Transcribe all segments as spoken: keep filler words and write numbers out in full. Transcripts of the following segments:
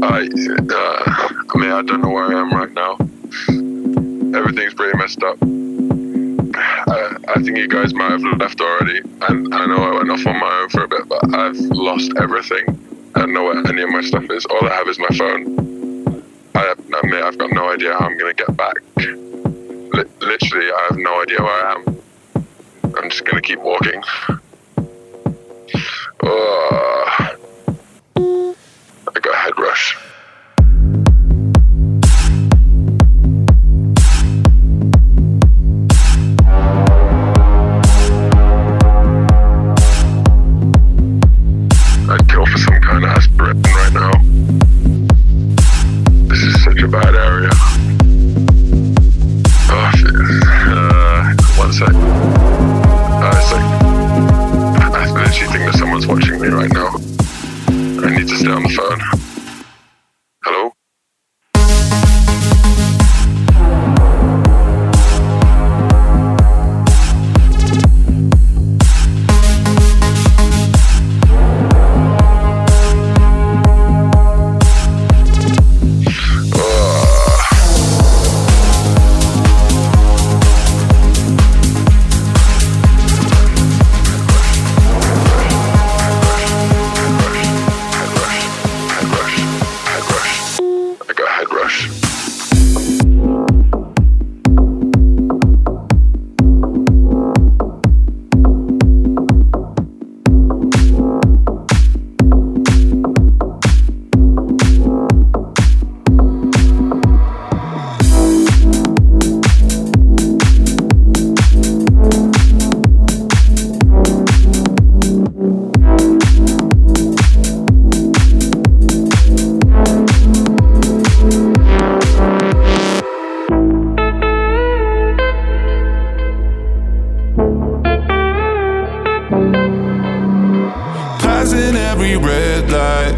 I, uh, I mean, I don't know where I am right now. Everything's pretty messed up. I, I think you guys might have left already, and I know I went off on my own for a bit, but I've lost everything. I don't know where any of my stuff is. All I have is my phone. I, I mean, I've got no idea how I'm gonna get back. L- literally, I have no idea where I am. I'm just gonna keep walking. Oh, I got a head rush. I'd kill for some kind of aspirin right now. This is such a bad area. Oh, shit. Uh, one sec. Uh, it's like, I literally think that someone's watching me right now. I need to stay on the phone. Hello? Passing every red light,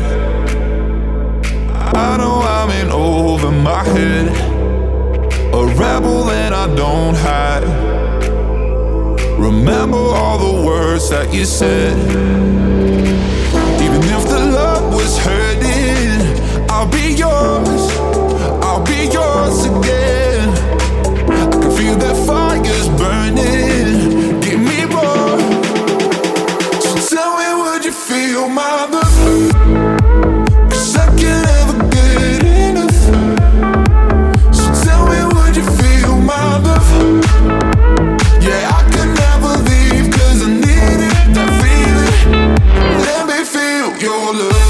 I know I'm in over my head. A rebel and I don't hide. Remember all the words that you said. Even if the love was hurting, I'll be yours, I'll be yours again. I can feel that fire's burning, give me more. So tell me, would you feel my love? Cause I can't ever get enough. So tell me, would you feel my love? Yeah, I can never leave, cause I need it, that feeling. Let me feel your love.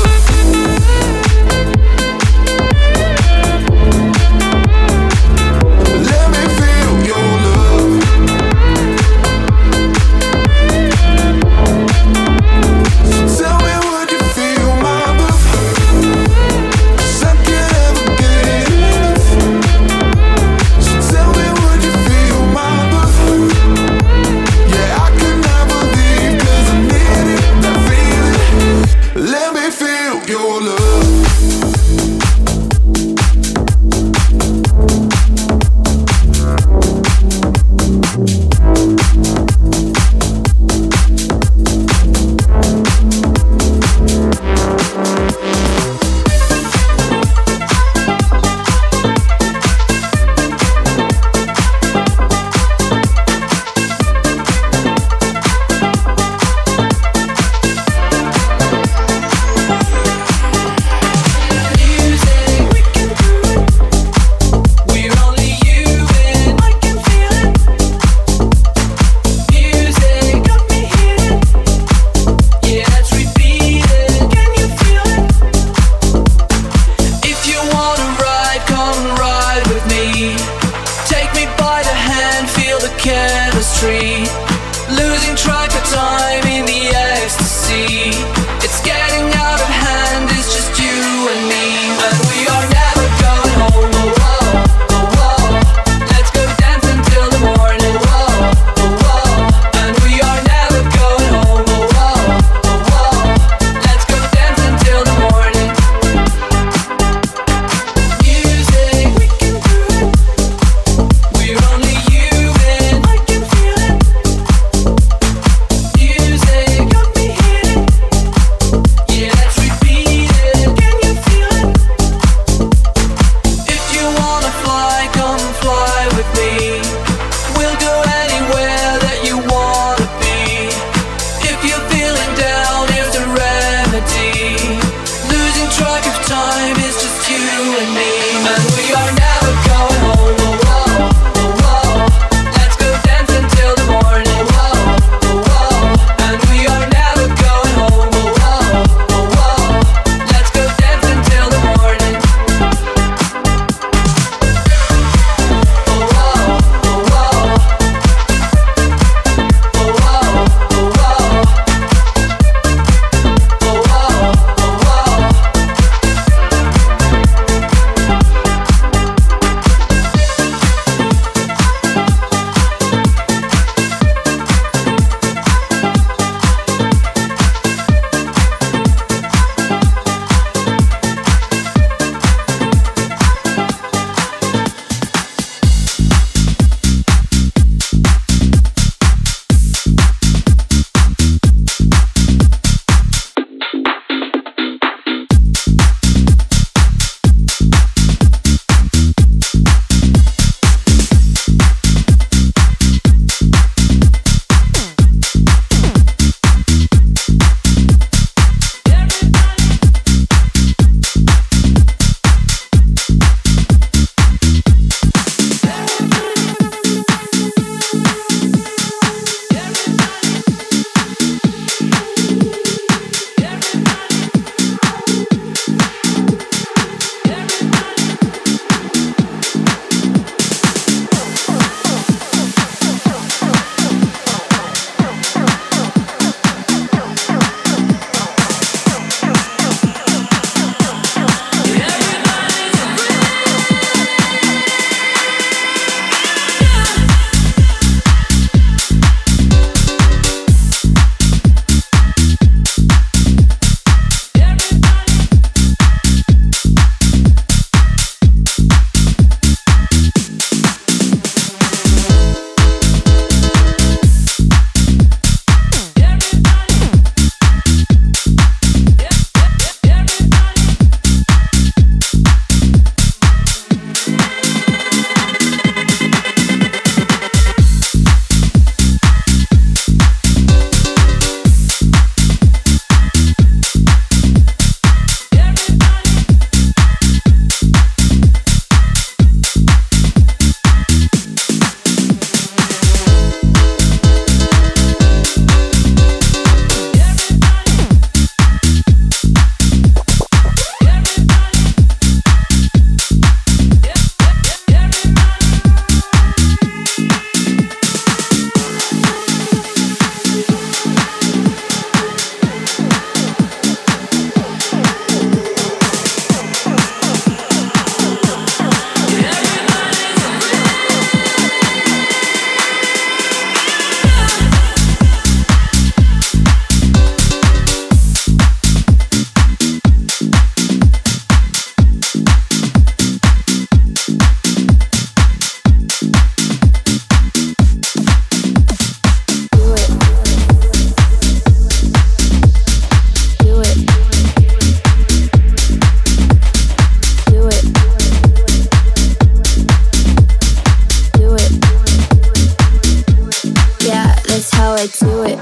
I do it.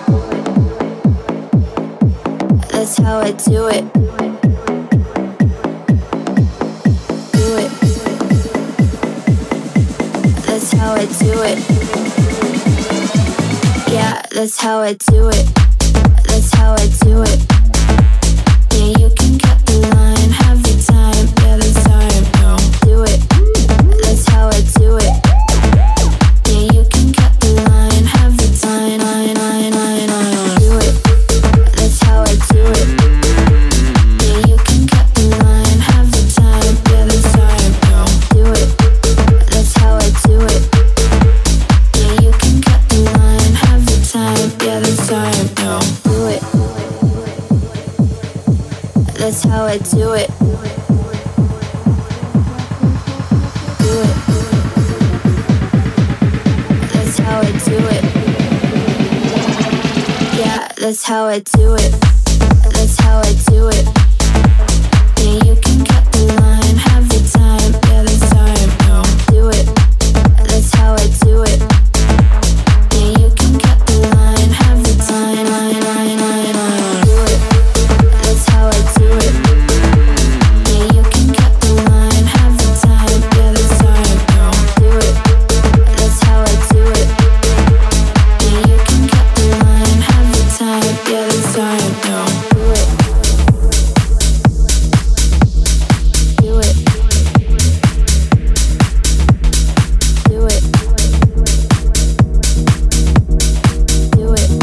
That's how I do it. Do it. That's how I do it. Yeah, that's how I do it. That's how I do it. Yeah, you can cut the line, have the time. Yeah, the time, no. Do it. That's how I do it. Yeah, you can cut the line, have the time. Line, line, line, line. Do it. That's how I do it. Yeah, you can cut the line, have the time. Yeah, the time, no. Do it. That's how I do it. Yeah, you can cut the line, have the time. Yeah, the time, no. Do it. That's how I do it. Do it. That's how I do it. Yeah, that's how I do it. That's how I do it. Yeah, you can cut the line, have the time. Yeah, the time, no. Do it. That's how I do it. Yeah, you can cut the line, have the time. Line, line, line, line. Do it. That's how I do it. Yeah, you can cut the line, have the time. Yeah, the time, no. Do it. That's how I do it. Yeah, you can cut the line, have the time. Yeah, the time, no. Do it. Do it. Do it. Do it.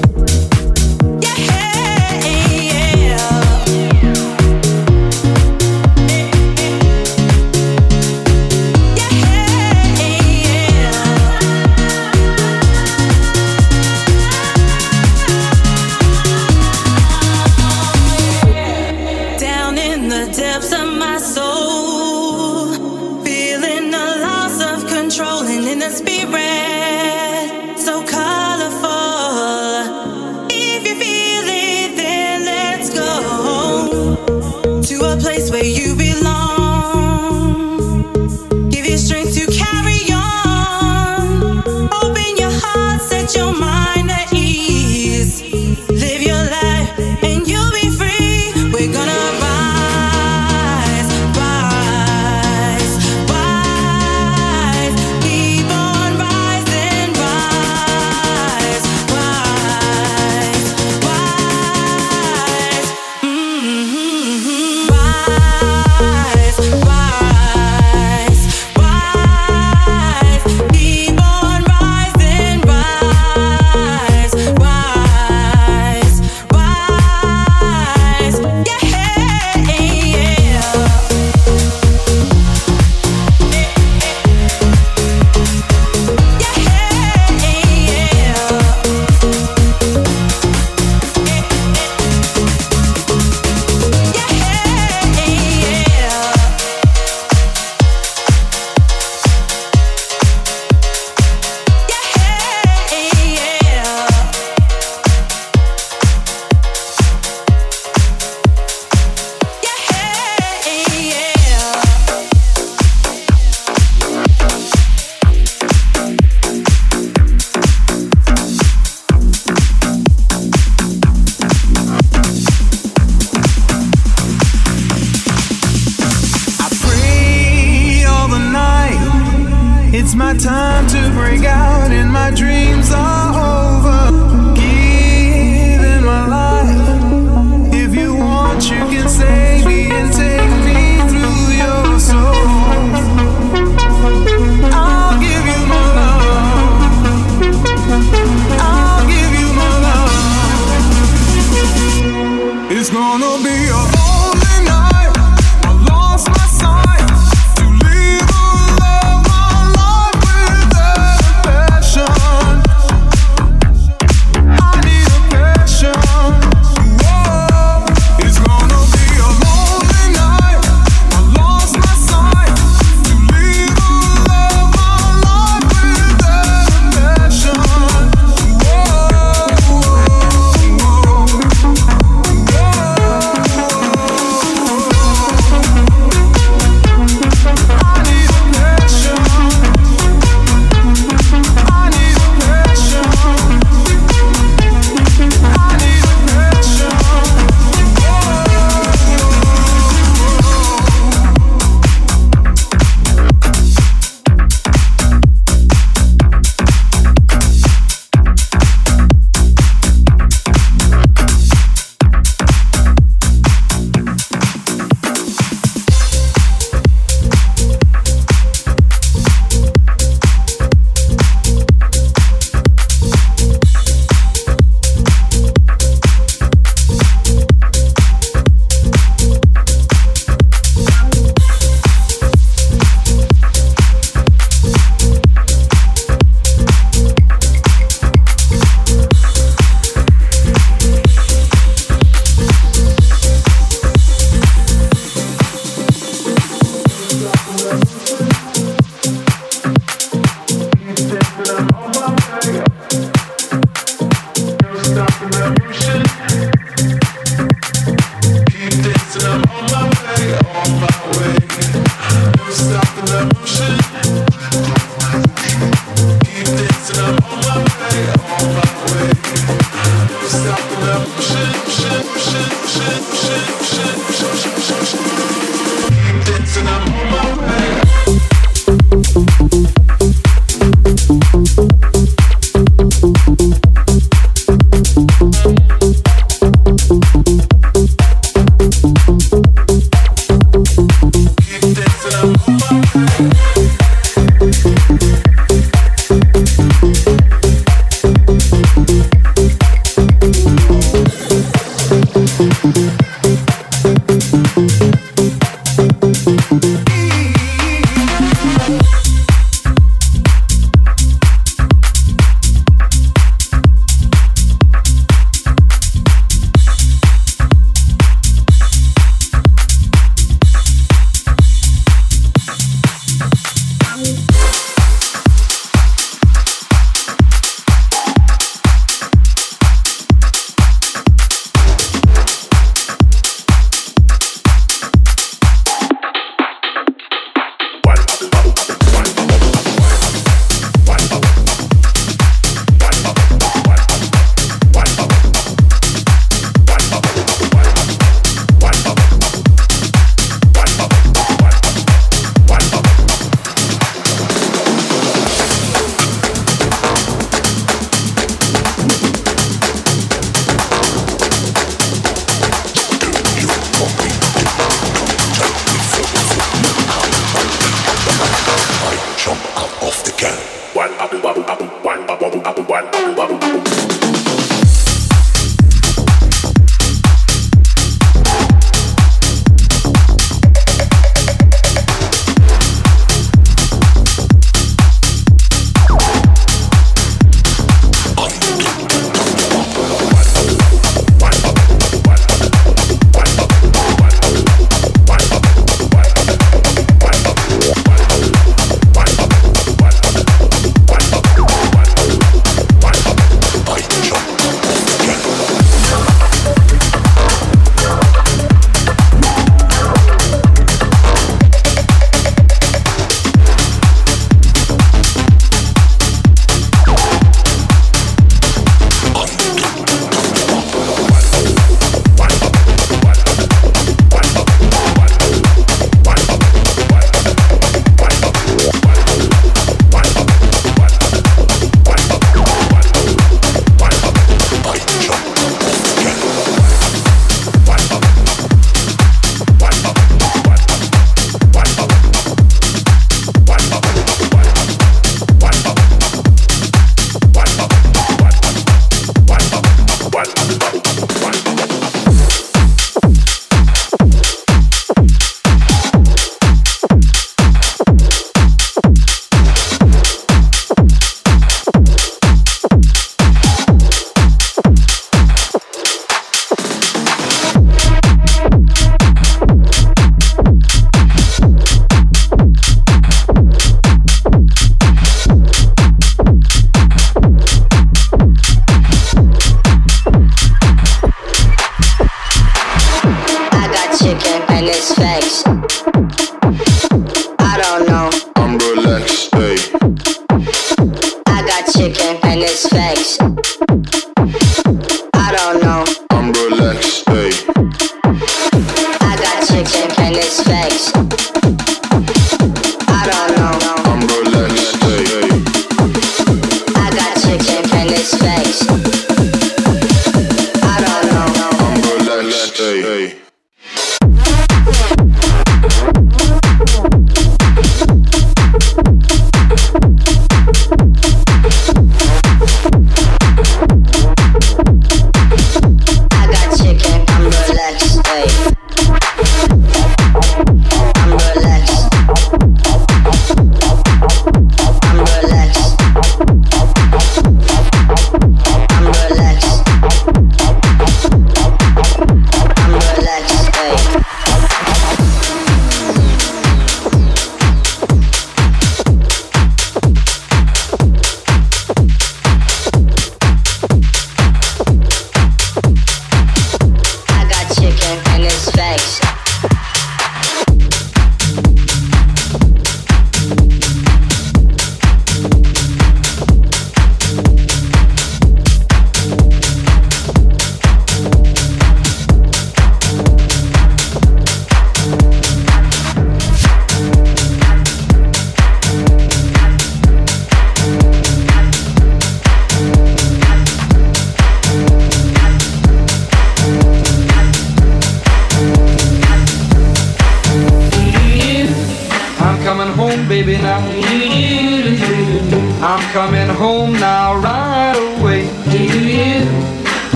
Down in the depths of my soul, feeling a loss of control, and in the spirit so colorful. If you feel it, then let's go to a place where you belong. Give you strength to carry on. Open your heart, set your mind at ease. Live your life and you'll be free. We're gonna rise, rise, rise. Keep on rising, rise, rise, rise. Mm-hmm. Rise, rise, rise. Keep on rising, rise, rise, rise. Yeah, yeah. I pray all the night. It's my time to break out, and my dreams are over. Giving my life. If you want, you can save me and take me through your soul. I'll give you my love. I'll give you my love. It's gonna be a lonely night. I lost my sight to live a love, my life without passion.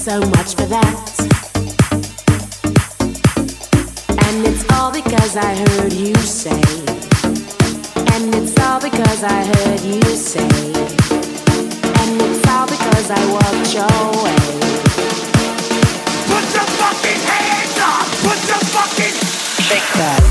So much for that. And it's all because I heard you say. And it's all because I heard you say. And it's all because I walked your way. Put your fucking hands up! Put your fucking... Shake that.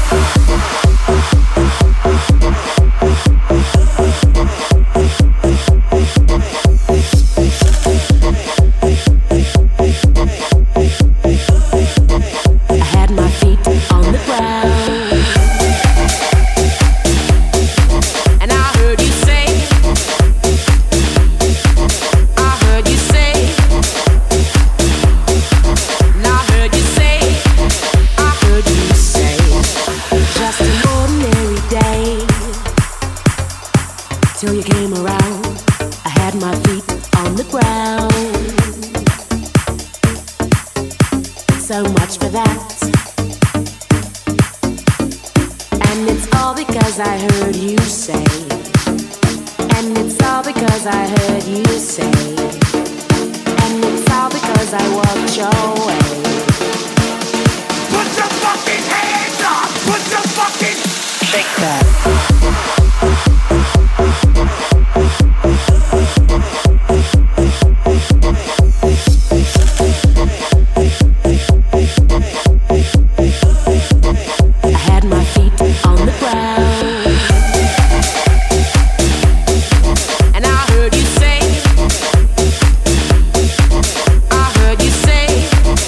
Till you came around, I had my feet on the ground. So much for that. And it's all because I heard you say. And it's all because I heard you say. And it's all because I walked your way. Put your fucking hands up! Put your fucking... Shake that. Put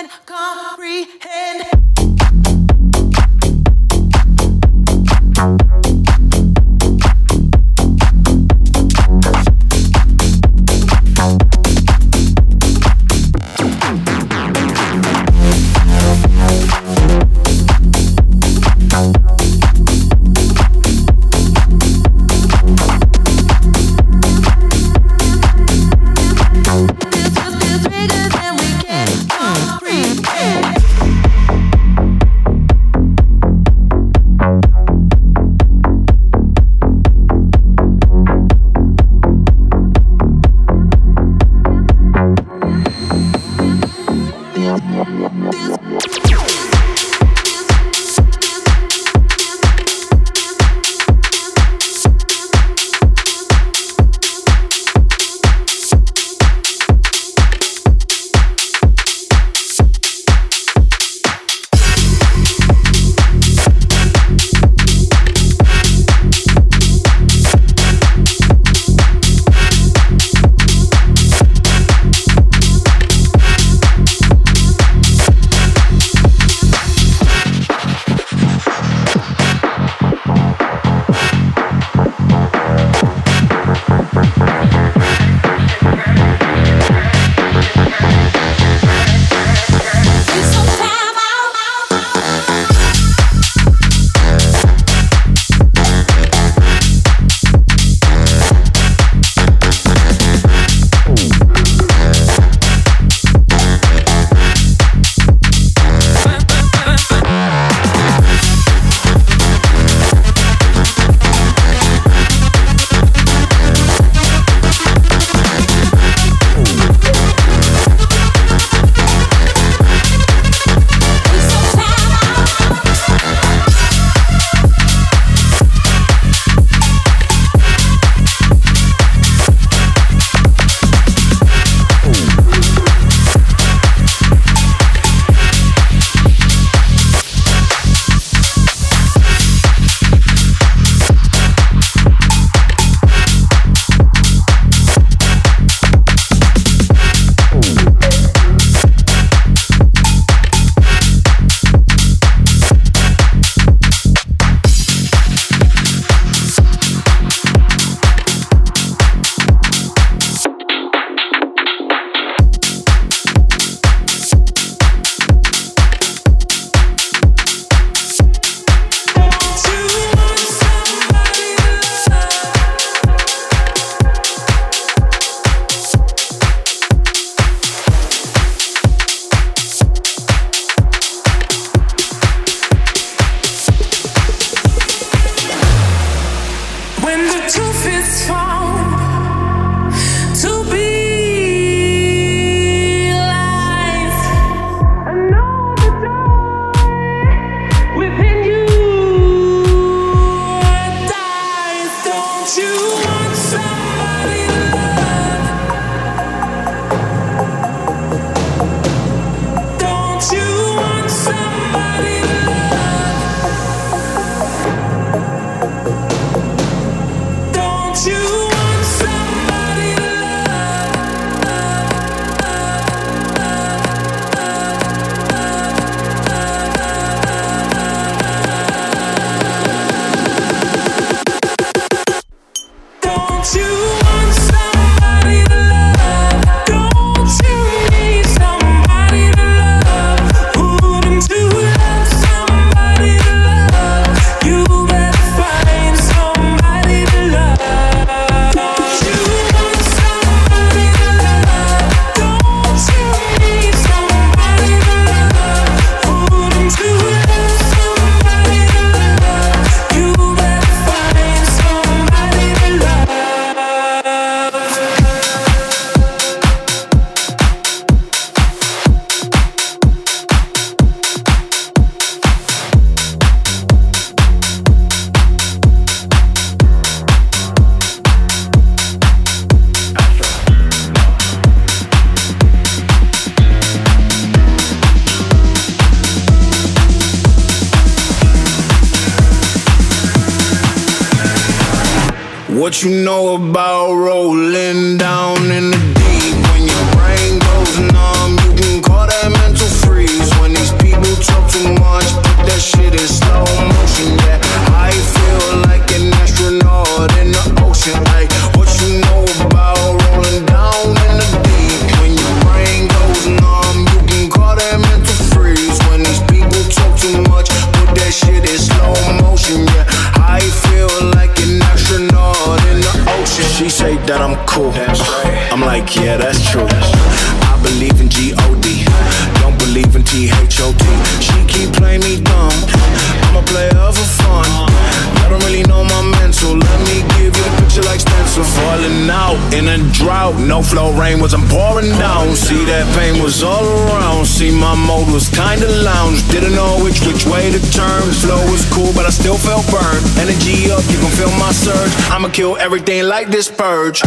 What you know about rolling down in the deep? When your brain goes numb, you can call that mental freeze. yeah, that's true. I believe in G O D, don't believe in T H O T. She keep playing me dumb, I'm a player for fun. I don't really know my mental, let me give you the picture like stencil. Falling out in a drought, no flow rain wasn't pouring down. See that pain was all around, see my mode was kinda lounge. Didn't know which which way to turn, flow was cool but I still felt burned. Energy up, you can feel my surge, I'ma kill everything like this purge.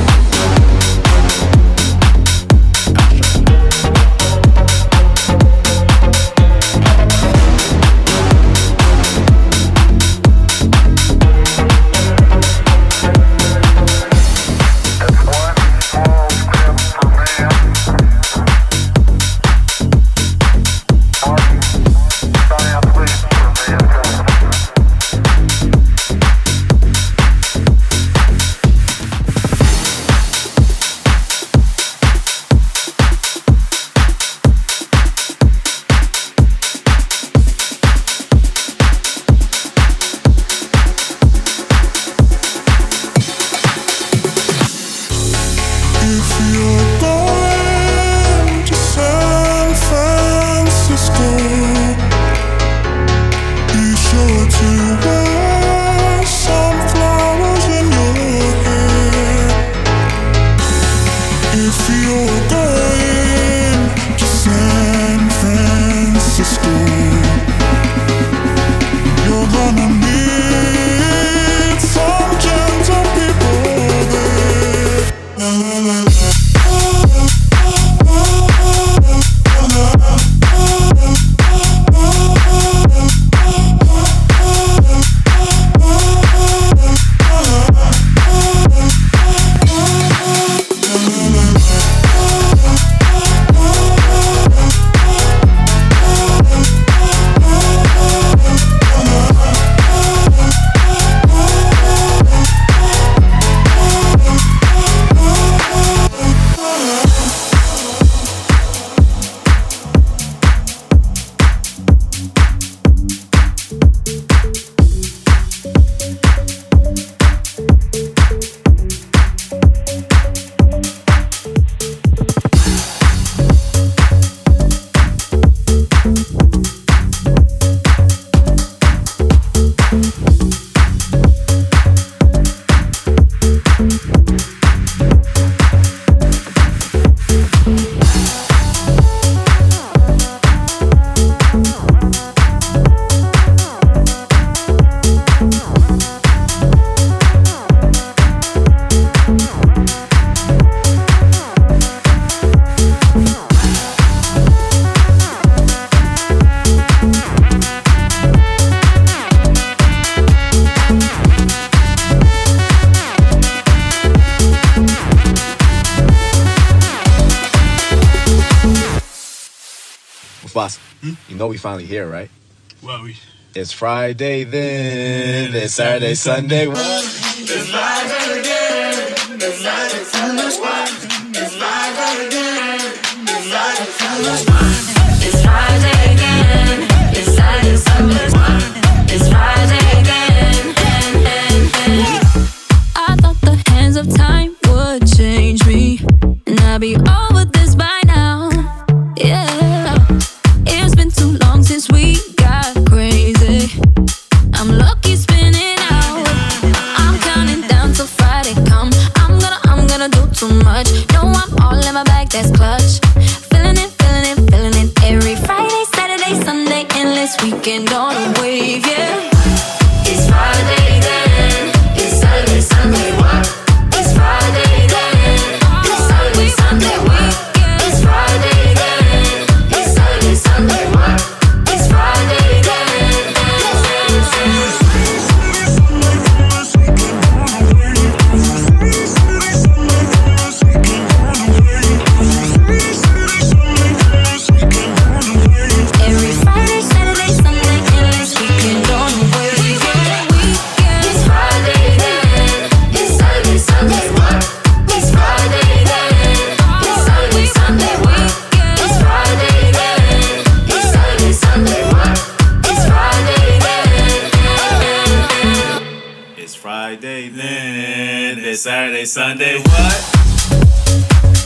Boss, hmm? You know we finally here, right? Well, we... It's Friday then, it's Saturday, Sunday. What? It's Friday again, it's Friday, Sunday, it's Friday again, it's Friday, Sunday, it's Friday again, it's Saturday, Sunday, it's Friday again, I thought the hands of time would change me, and I'd be over this by now, yeah. Since we got crazy, I'm lucky spinning out. I'm counting down till Friday come. I'm gonna, I'm gonna do too much. No, I'm all in my bag, that's clutch. Feeling it, feeling it, feeling it. Every Friday, Saturday, Sunday, endless weekend on a wave, yeah. It's Friday then, it's Saturday, Sunday, what? It's Friday then, it's Saturday, Sunday, what? It's Friday then, it's Saturday, Sunday, what? Friday then, it's Saturday, Sunday, what?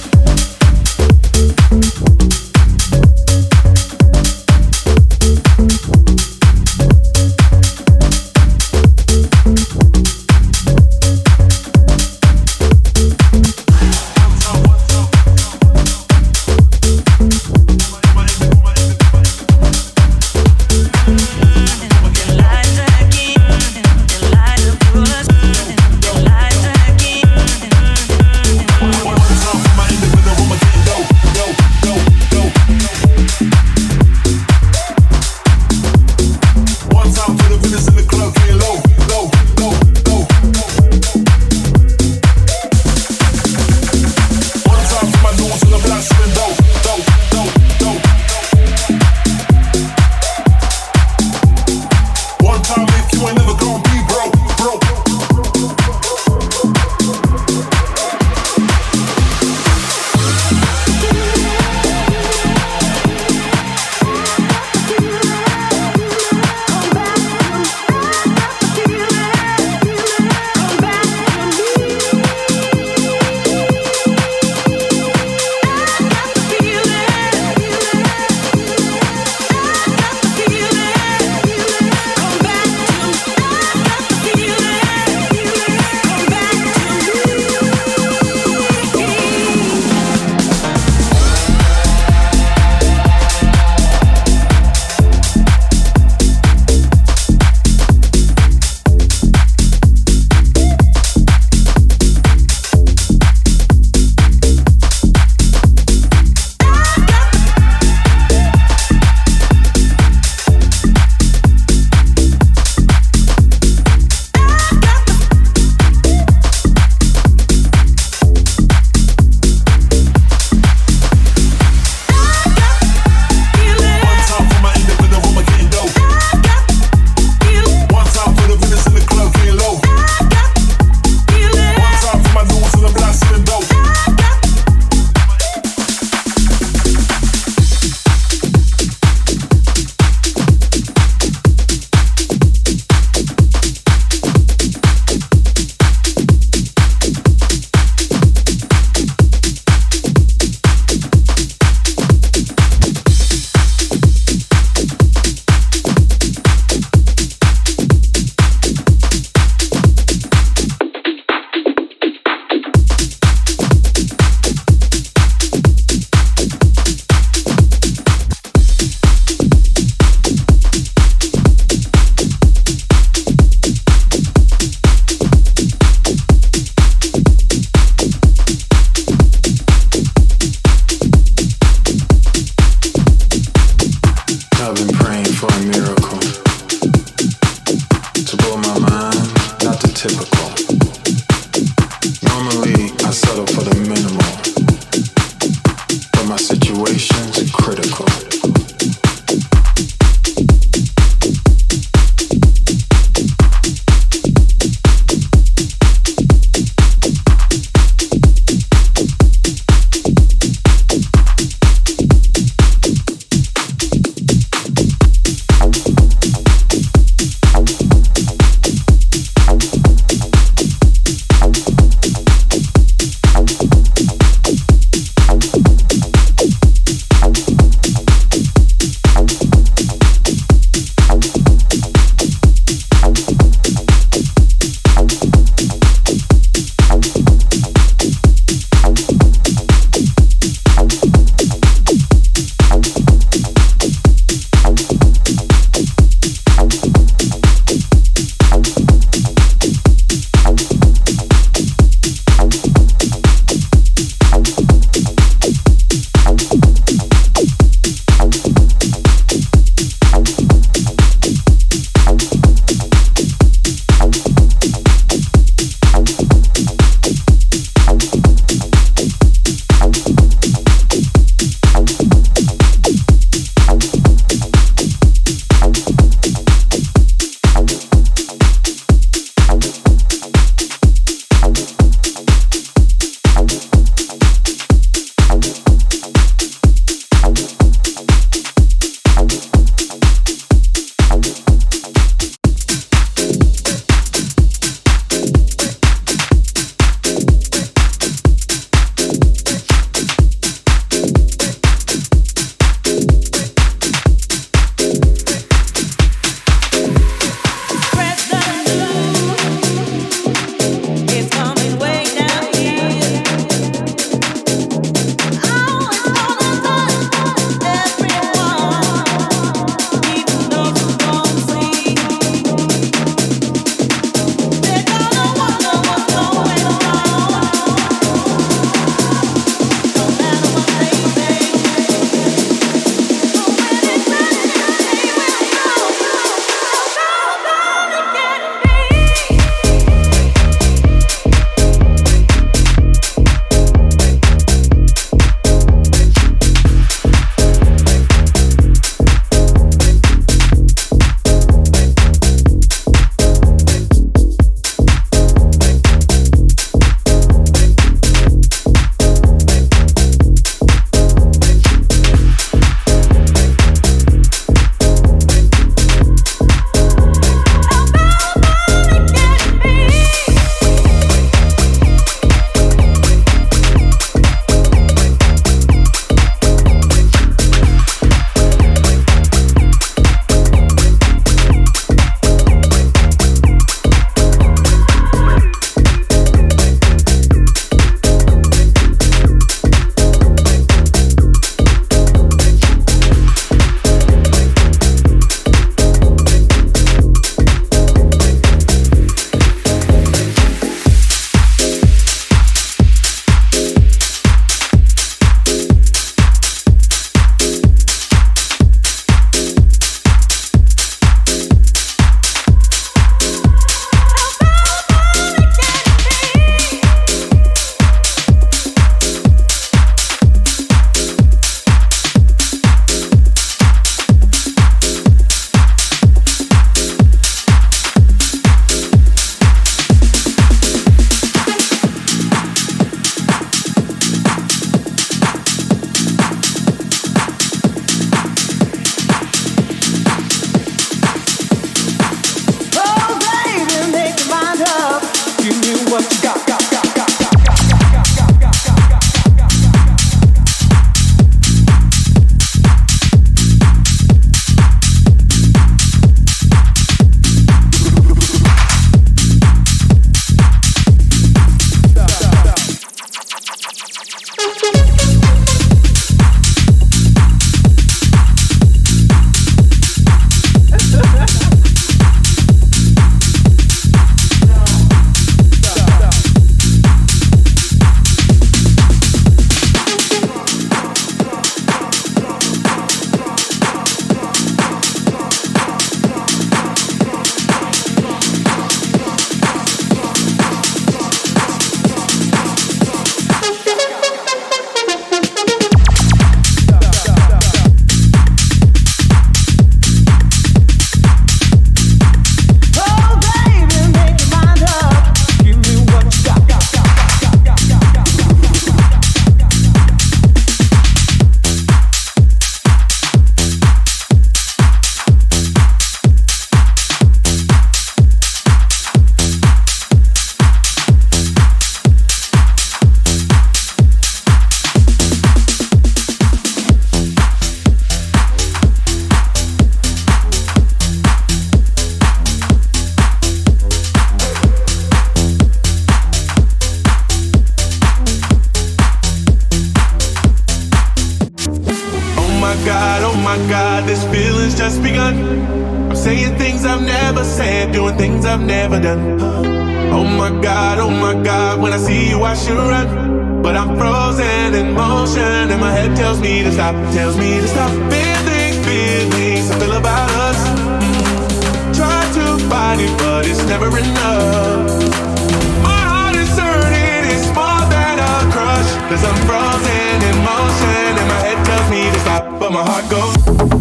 God, this feeling's just begun. I'm saying things I've never said, doing things I've never done. Oh my God, oh my God, when I see you I should run, but I'm frozen in motion and my head tells me to stop, tells me to stop. Feelings, feelings I feel about us. Try to find it, but it's never enough. My heart is hurting, it's more than a crush, cause I'm frozen in motion and my head tells me to stop, but my heart goes.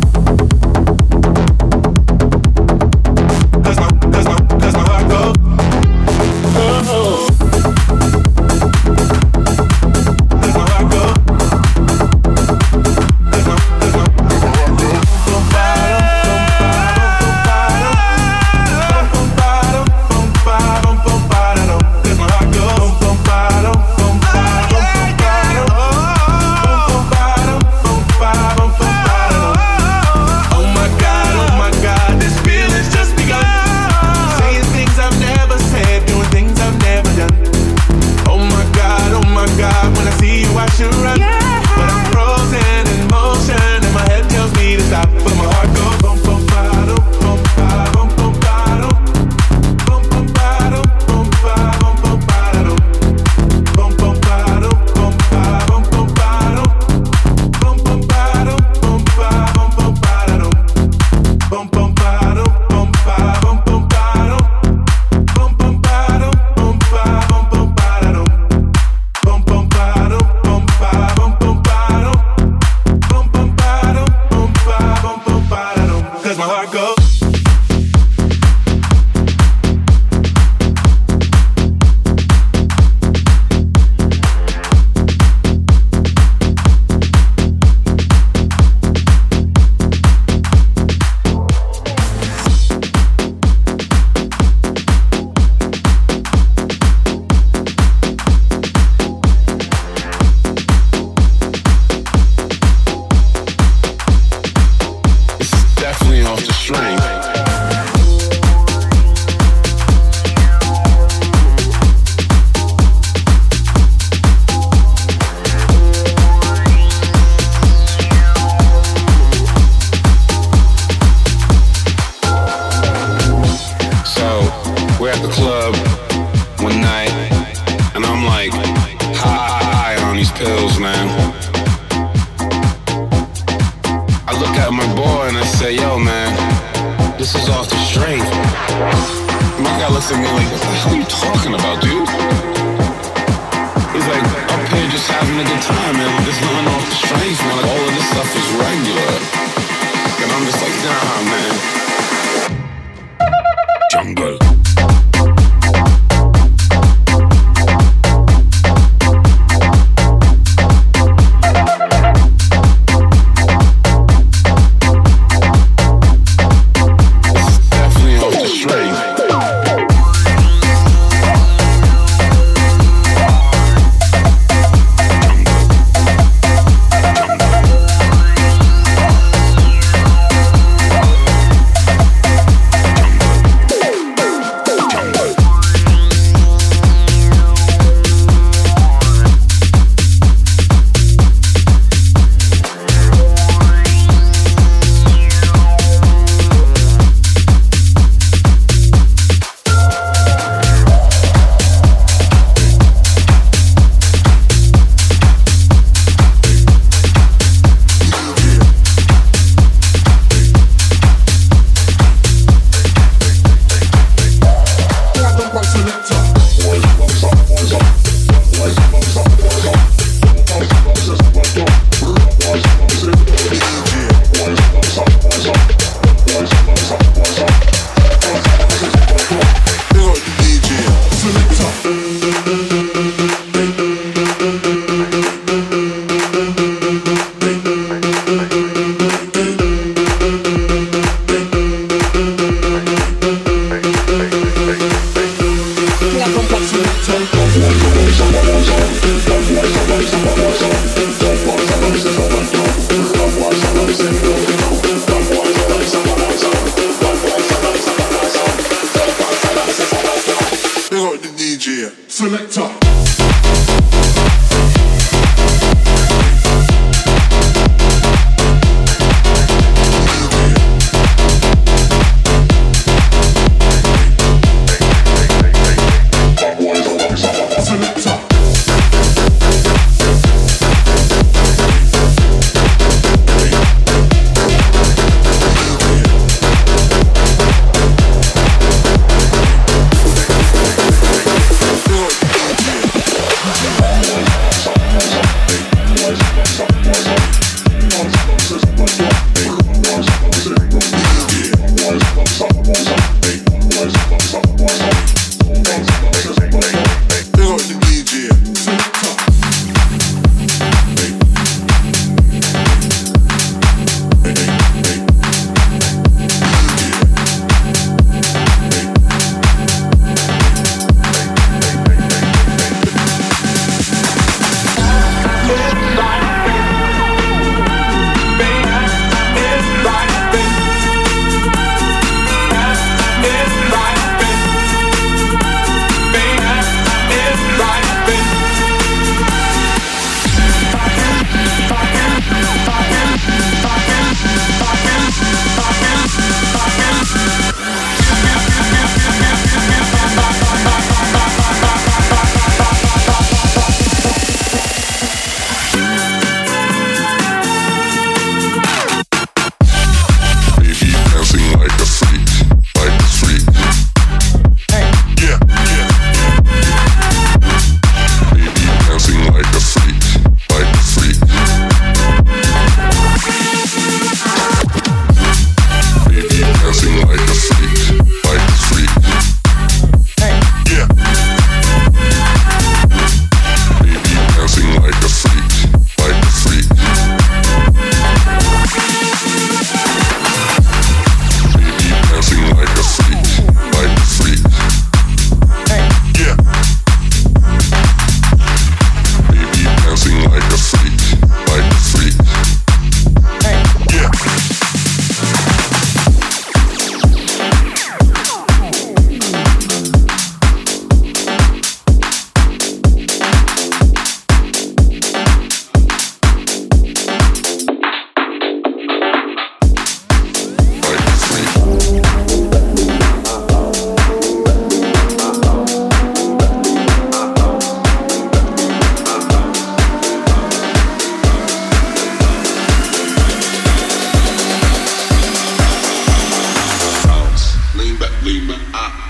Cause my, cause my, cause my heart goes. Oh. Cause my heart goes. Cause my, cause my, cause my heart goes.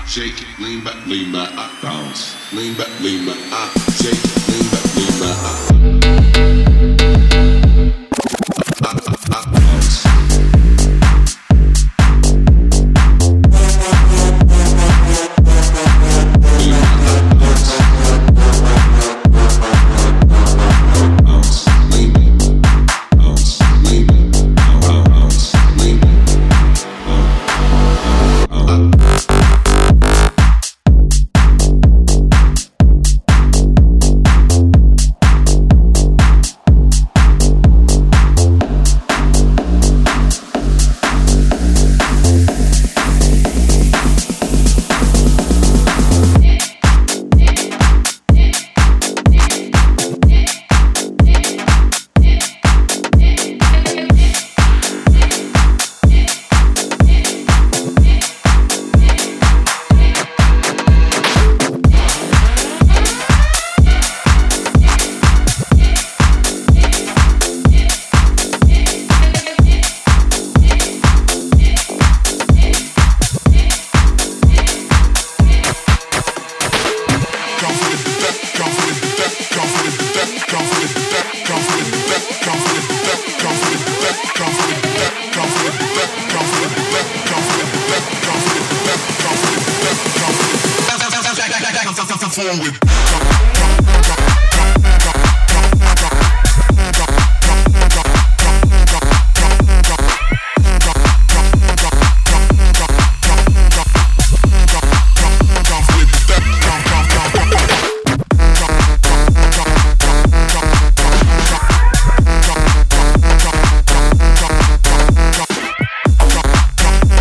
shake it, lean back, lean back, uh, bounce, lean back, lean back, uh, shake it, lean back, lean back, uh, uh, uh, uh, bounce.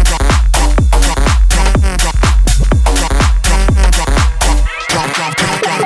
Come, come, come, come.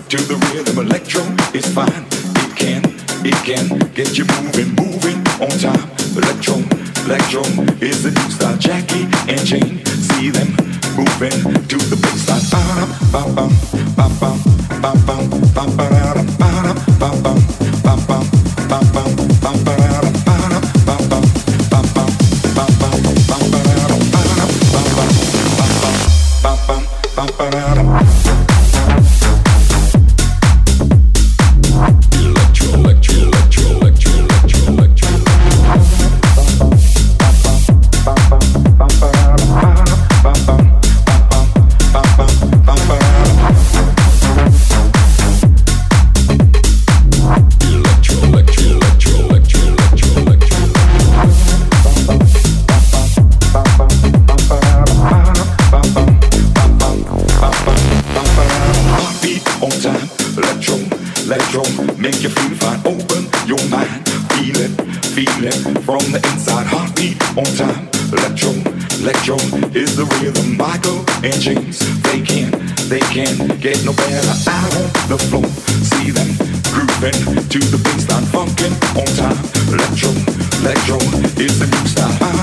to the rhythm. Electro is fine. It can, it can get you moving, moving on time. Electro, electro is the new style. Jackie and Jane, see them moving to the bassline. Ba bum, ba bum, ba bum, ba bum, ba bum, ba bum, ba bum, ba bum, ba bum, ba bum, ba bum, ba bum, ba bum, ba bum, ba bum, ba bum. Make you feel fine, open your mind. Feel it, feel it from the inside. Heartbeat on time. Electro, electro is the rhythm. Michael and James, they can, they can get no better. Out on the floor, see them grooving to the bassline. Funkin' on time. Electro, electro is the new style.